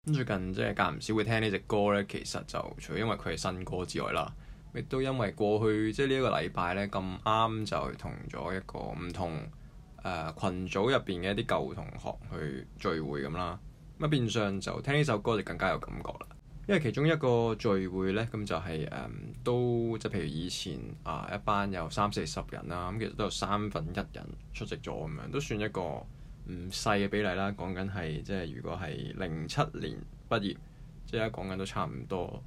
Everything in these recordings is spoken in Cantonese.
咁最近即係間唔少會聽呢隻歌咧，其實就除咗因為佢係新歌之外啦，亦都因為過去即係呢一個禮拜咧咁啱就同咗一個唔同群組入邊嘅一啲舊同學去聚會咁啦。咁變相就聽呢首歌就更加有感覺啦。因為其中一個聚會咧，咁就係都即係譬如以前一班有30-40人啦，咁其實都有1/3人出席咗咁樣，都算一個唔細嘅比例啦。講緊係即係如果係07年畢業，即係講緊都差唔多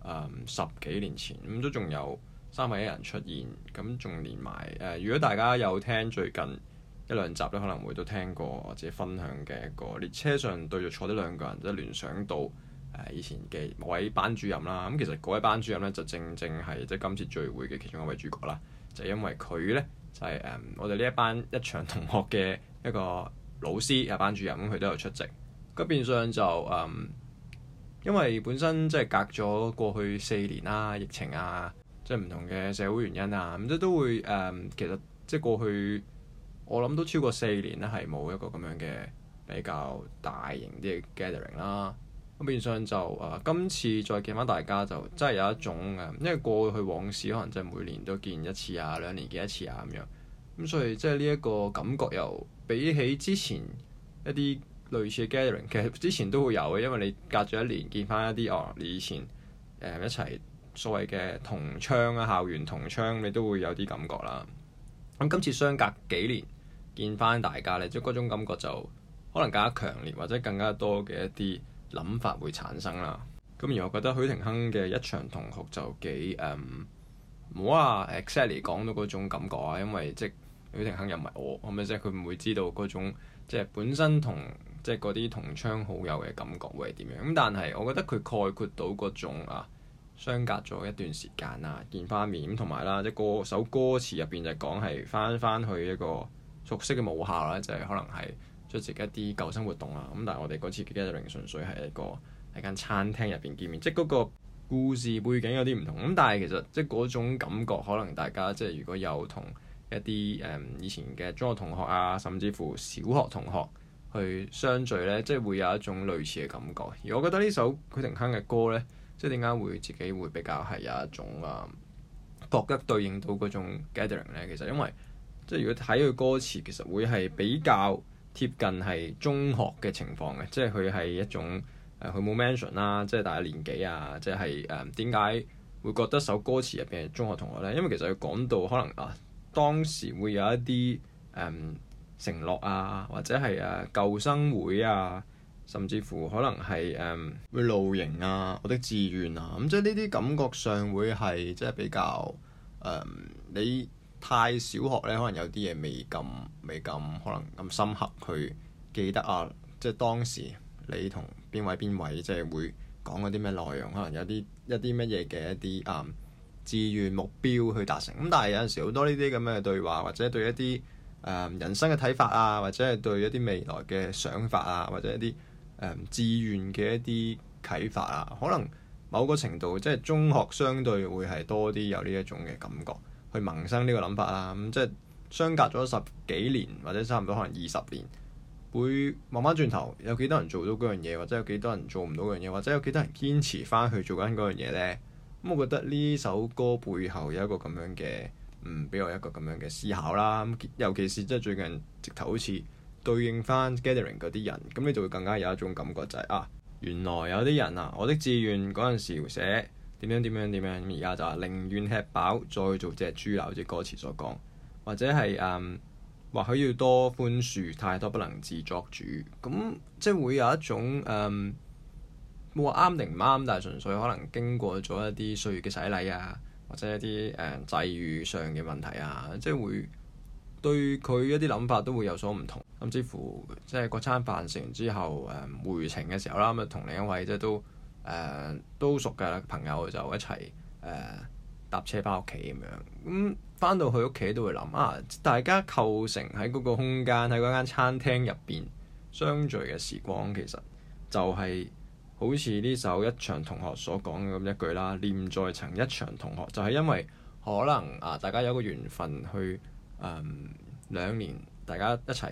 10幾年前，咁都仲有1/3人出現，咁仲連埋如果大家有聽最近1、2集咧，可能會都聽過或者分享嘅一個列車上對著坐啲2個人，即係聯想到以前嘅某位班主任啦。咁其實嗰位班主任咧就正係即係今次聚會嘅其中一位主角啦。就係因為佢咧就係我哋呢一班一場同學嘅一個老師班主任，咁佢都有出席。咁變相就因為本身即係隔咗過去4年啦，疫情啊，即係唔同嘅社會原因啊，咁都會其實即係過去我諗都超過4年咧，係冇一個咁樣嘅比較大型啲嘅 gathering 啦。咁變相就今次再見翻大家就真係有一種因為過去往事可能真係每年都見一次啊，2年見一次啊咁樣。咁所以即係呢一個感覺又比起之前一啲類似嘅 gathering， 其實之前都會有嘅，因為你隔咗1年見翻一啲你以前一齊所謂嘅同窗啊，校園同窗，你都會有啲感覺啦。咁今次相隔幾年見翻大家咧，即係嗰種感覺就可能更加強烈，或者更加多嘅一啲諗法會產生啦。咁而我覺得許廷鏗嘅一場同學就幾唔好話 exactly 講到嗰種感覺啊，因為即係許廷鏗又唔係我，係咪即係佢唔會知道嗰種即係本身同即係嗰啲同窗好友嘅感覺會係點樣。咁但係我覺得佢概括到嗰種相隔咗一段時間啊，見翻面咁，同埋啦，即係首歌詞入邊就講係翻去一個熟悉嘅母校啦，就係可能係出席一啲舊生活動啊。咁但係我哋嗰次嘅 gathering 純粹係一個喺間餐廳入邊見面，即係嗰個故事背景有啲唔同。咁但係其實即係嗰種感覺，可能大家即係如果有同一啲以前嘅中學同學啊，甚至乎小學同學去相聚呢，即係會有一種類似嘅感覺。而我覺得呢首許廷鏗嘅歌呢，即係點解會自己會比較係有一種覺得對應到嗰種 gathering 呢？其實因為即係如果睇佢歌詞，其實會係比較貼近係中學嘅情況嘅，即係佢係一種佢冇 mention 啦，即係大家年紀啊，即係點解會覺得首歌詞入邊係中學同學呢？因為其實佢講到可能當時會有一啲承諾啊，或者係舊生會啊，甚至乎可能係會露營啊，我的志願啊，咁即係呢啲感覺上會係即係比較你太小學咧，可能有啲嘢未咁可能咁深刻去記得即係當時你同邊位即係會講嗰啲咩內容，可能有一啲乜嘢嘅一啲志願目標去達成。咁但係有陣時好多呢啲咁嘅對話，或者對一啲人生嘅睇法啊，或者係對一啲未來嘅想法啊，或者一啲志願嘅一啲啟發啊，可能某個程度即係中學相對會係多啲有呢一種嘅感覺去萌生呢個諗法啦。咁即係相隔咗10幾年或者差唔多可能20年，會望翻轉頭有幾多人做到嗰樣嘢，或者有幾多人做唔到嗰樣嘢，或者有幾多人堅持翻去做緊嗰樣嘢呢？咁我覺得呢首歌背後有一個咁樣嘅俾我一個咁樣嘅思考啦。尤其是即係最近直頭好似對應翻 gathering 嗰啲人，咁你就會更加有一種感覺就係原來有啲人我的志願嗰陣時寫點樣，而家就寧願吃飽再做隻豬乸，即歌詞所講，或者係或許要多寬恕，太多不能自作主。咁即係會有一種冇話啱定唔啱，但係純粹可能經過咗一啲歲月嘅洗禮啊，或者一啲際遇上嘅問題啊，即係會對佢一啲諗法都會有所唔同。甚至乎即係嗰餐飯食完之後回程嘅時候啦，咁同另一位即係都熟嘅朋友就一齊搭車翻屋企咁樣。咁翻到去屋企都會諗大家構成喺嗰個空間，喺嗰間餐廳入邊相聚嘅時光，其實就係好似呢首一場同學所講嘅咁一句啦，念在曾一場同學，就係因為可能大家有個緣分去2年大家一齊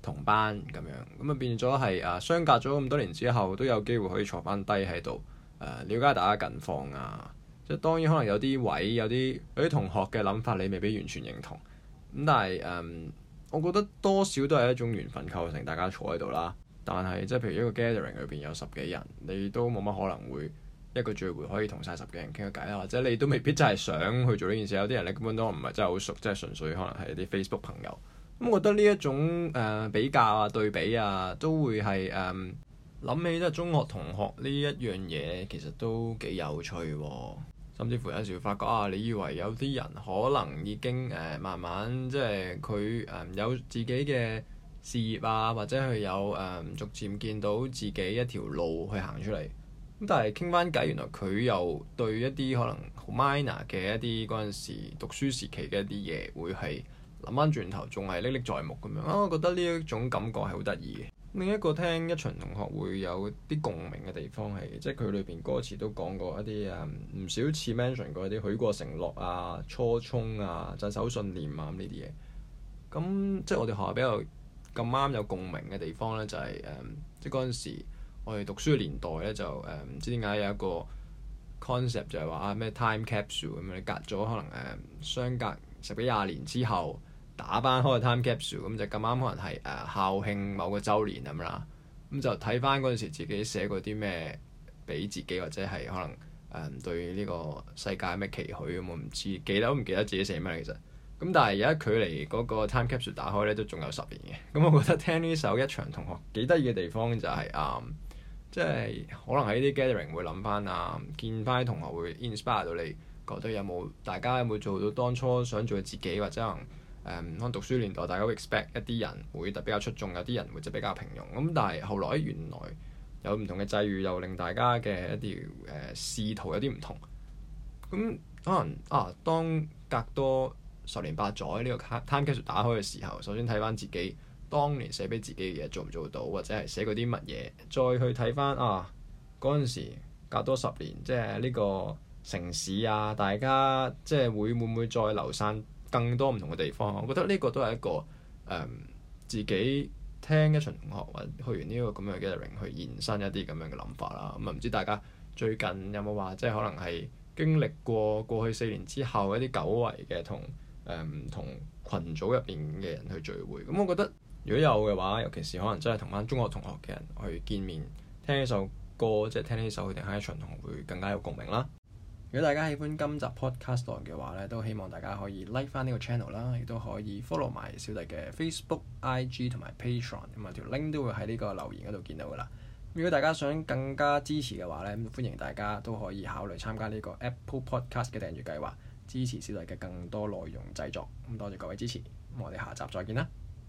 同班咁樣，咁啊變咗係相隔咗咁多年之後都有機會可以坐翻低喺度了解大家近況啊。即係當然可能有啲位有啲同學嘅諗法你未必完全認同，咁但係我覺得多少都係一種緣分構成大家坐喺度啦。但係即係譬如一個 gathering 裏邊有10幾人，你都冇乜可能會一個聚會可以同晒10幾人傾個偈啦，或者你都未必真係想去做呢件事。有啲人你根本都唔係真係好熟，即係純粹可能係一啲 Facebook 朋友。咁我覺得呢一種比較啊、對比啊，都會係諗起即係中學同學呢一樣嘢，其實都幾有趣喎。甚至乎有時會發覺你以為有啲人可能已經慢慢即係佢有自己嘅事業啊，或者佢有逐漸見到自己一條路去行出嚟。咁但係傾翻偈，原來佢又對一啲可能好 minor 嘅一啲嗰陣時讀書時期嘅一啲嘢，會係諗翻轉頭仲係歷歷在目咁樣。我覺得呢一種感覺係好得意嘅。另一個聽一場同學會有啲共鳴嘅地方係，即係佢裏邊歌詞都講過一啲唔少次 mention 過一啲許過承諾啊、初衷啊、鎮守信念啊呢啲嘢。咁即係我哋學校比較咁啱有共鳴嘅地方咧，就係即係嗰陣時我哋讀書嘅年代咧，就唔知點解有一個 concept 就係話咩 time capsule 咁樣，你隔咗可能相隔10幾20年之後，打翻開個 time capsule，咁就咁啱可能係校慶某個週年咁啦，咁就睇翻嗰陣時自己寫過啲咩俾自己，或者係可能對呢個世界咩期許咁，我唔知記得都唔記得自己寫咩其實。咁但係而家距離嗰個 time capsule 打開咧都仲有10年嘅。咁我覺得聽呢首一場同學幾得意嘅地方就係即係可能喺啲 gathering 會諗翻見翻啲同學會 inspire 到你，覺得大家有冇做到當初想做嘅自己，或者可能讀書年代大家會 expect 一啲人會比較出眾，有啲人會就比較平庸。咁但係後來原來有唔同嘅際遇，又令大家嘅一啲仕途有啲唔同。咁可能當隔多10年8載呢個 time capsule 打開嘅時候，首先睇翻自己當年寫俾自己嘅嘢做唔做到，或者係寫過啲乜嘢，再去睇翻嗰陣時隔多10年，即係呢個城市大家即係會唔會再流散更多唔同嘅地方？我覺得呢個都係一個自己聽一場同學或者去完呢個咁樣嘅 gathering 去延伸一啲咁樣嘅諗法啦。咁唔知大家最近有冇話即係可能係經歷過去4年之後一啲久違嘅同唔同群組入邊嘅人去聚會？咁我覺得如果有嘅話，尤其是可能真係同班中學同學嘅人去見面，聽呢首歌，即係聽呢首佢哋喺一場同學會更加有共鳴啦。如果大家喜歡今集 podcast 嘅話咧，都希望大家可以 like 翻呢個 channel 啦，亦都可以 follow 埋小弟嘅 Facebook、IG 同埋 Patreon，咁條 link 都會喺呢個留言嗰度見到噶啦。如果大家想更加支持嘅話咧，歡迎大家都可以考慮參加呢個 Apple Podcast 嘅訂閱計劃，支持小弟嘅更多內容製作。咁多謝各位支持，咁我哋下集再見啦〜